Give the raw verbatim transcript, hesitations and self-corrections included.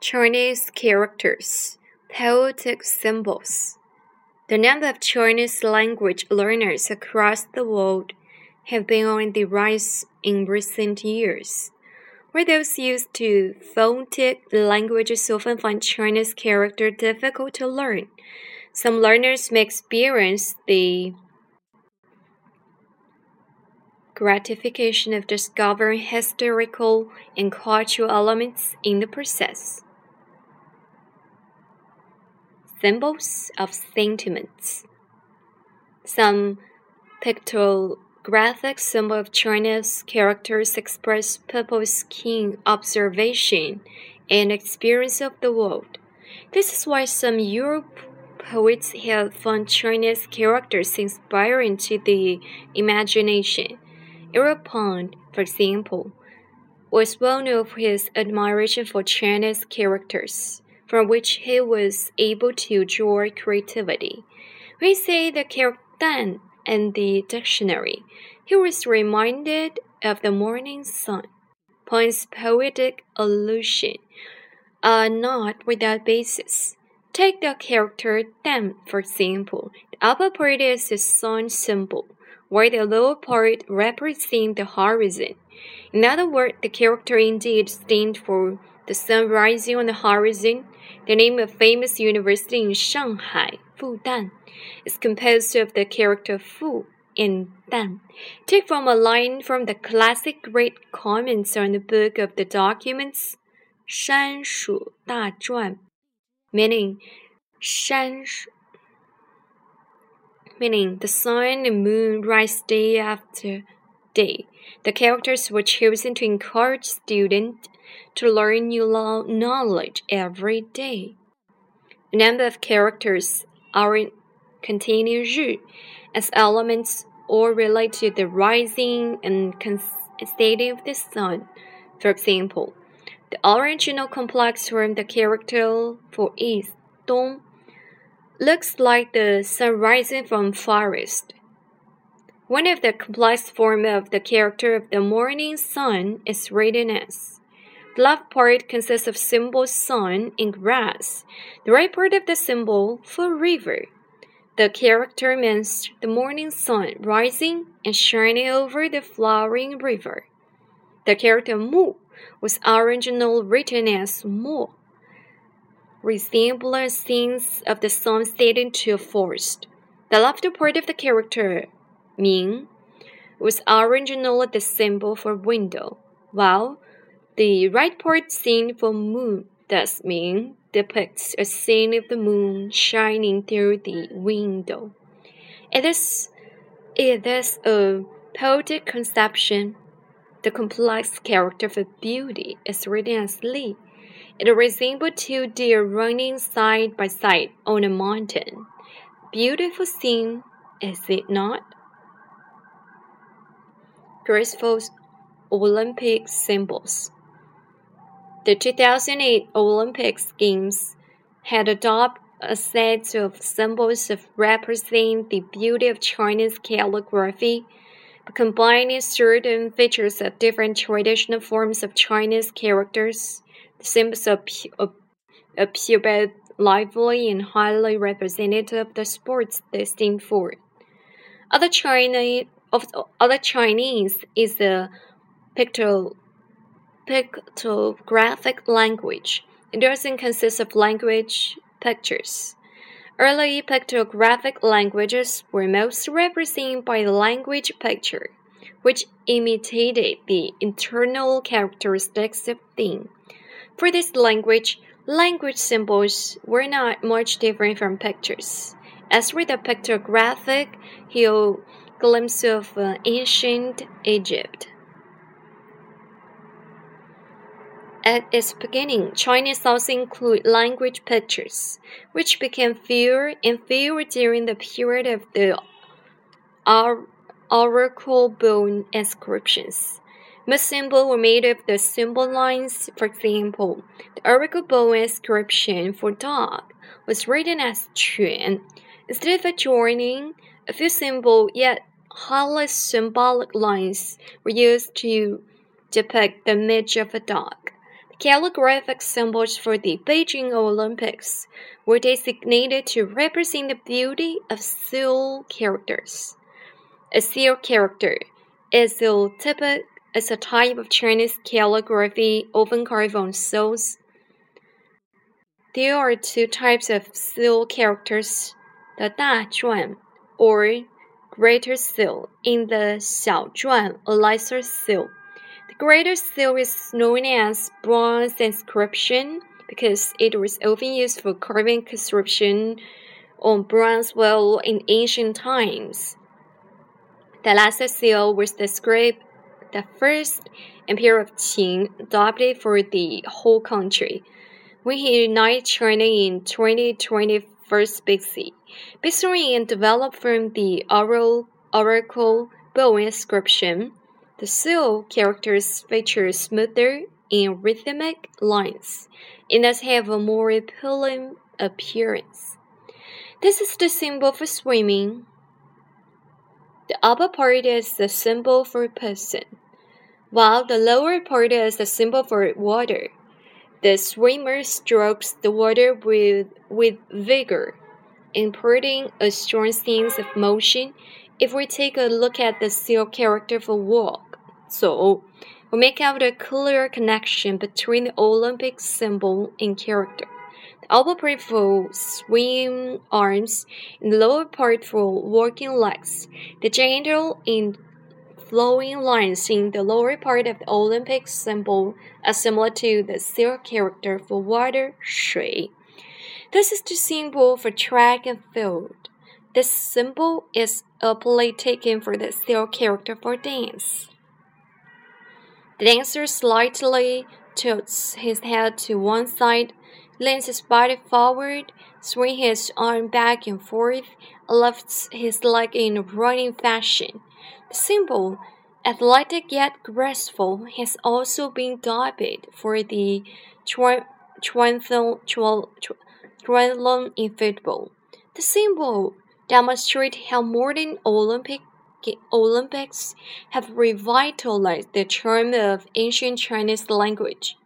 Chinese characters, poetic symbols. The number of Chinese language learners across the world have been on the rise in recent years. Where those used to phonetic languages often find Chinese character difficult to learn, some learners may experience the gratification of discovering historical and cultural elements in the process. Symbols of sentiments. Some pictographic symbols of Chinese characters express people's keen observation and experience of the world. This is why some Europe poets have found Chinese characters inspiring to the imagination. Erapont, for example, was well known for his admiration for Chinese characters, from which he was able to draw creativity. When he said the character Dan in the dictionary, he was reminded of the morning sun. Pont's poetic allusion are not without basis. Take the character Dan, for example. The upper part is the sun symbol, while the lower part represents the horizon. In other words, the character indeed stands for the sun rising on the horizon. The name of famous university in Shanghai, Fudan, is composed of the character Fu and Dan. Take from a line from the classic great comments on the Book of the Documents, 山蜀大传, meaning 山蜀 meaning the sun and moon rise day after day. The characters were chosen to encourage students to learn new knowledge every day. A number of characters are containing 日 as elements or relate to the rising and setting of the sun. For example, the original complex form the character for east, 东, looks like the sun rising from forest. One of the complex forms of the character of the morning sun is written as. The left part consists of symbol sun and grass. The right part of the symbol for river. The character means the morning sun rising and shining over the flowing river. The character mu was originally written as mo, resembling scenes of the sun setting to a forest. The left part of the character, Ming, was originally the symbol for window, while the right part scene for moon, thus Ming, depicts a scene of the moon shining through the window. It is, it is a poetic conception. The complex character for beauty is written as Li. It resembles two deer running side by side on a mountain. Beautiful scene, is it not? Graceful Olympic symbols. The two thousand eight Olympic Games had adopted a set of symbols that represent the beauty of Chinese calligraphy, by combining certain features of different traditional forms of Chinese characters. The symbols appear both lively and highly representative of the sports they stand for. Other Chinese, of other Chinese is a pictorial pictographic language. It doesn't consist of language pictures. Early pictographic languages were mostly represented by the language picture, which imitated the internal characteristics of things. For this language, language symbols were not much different from pictures. As with the pictographic hieroglyphs of uh, ancient Egypt. At its beginning, Chinese also included language pictures, which became fewer and fewer during the period of the oracle bone inscriptions. Most symbols were made of the symbol lines. For example, the oracle bone inscription for dog was written as Quan. Instead of adjoining, a few simple yet highly symbolic lines were used to depict the image of a dog. calligraphic symbols for the Beijing Olympics were designated to represent the beauty of seal characters. A seal character is a, typic, is a type of Chinese calligraphy often carved on seals. There are two types of seal characters, the 大篆 or greater seal, and the 小篆, a lesser seal. The greater seal is known as bronze inscription because it was often used for carving inscription on bronze well in ancient times. The lesser seal was the script the first emperor of Qing adopted for the whole country. When he united China in twenty twenty-first B C, based on and developed from the oral, oracle bow inscription, the seal characters feature smoother and rhythmic lines, and thus have a more appealing appearance. This is the symbol for swimming. The upper part is the symbol for person, while the lower part is the symbol for water. The swimmer strokes the water with, with vigor, imparting a strong sense of motion. If we take a look at the seal character for walk, so we make out a clear connection between the Olympic symbol and character. The upper part for swim arms and the lower part for walking legs. The gentle and flowing lines in the lower part of the Olympic symbol are similar to the seal character for water, 水. This is the symbol for track and field. This symbol is aptly taken for the seal character for dance. The dancer slightly tilts his head to one side, leans his body forward, swings his arm back and forth, and lifts his leg in a running fashion. The symbol, athletic yet graceful, has also been adopted for the triathlon in football. The symbol demonstrates how modern Olympic Olympics have revitalized the charm of ancient Chinese language.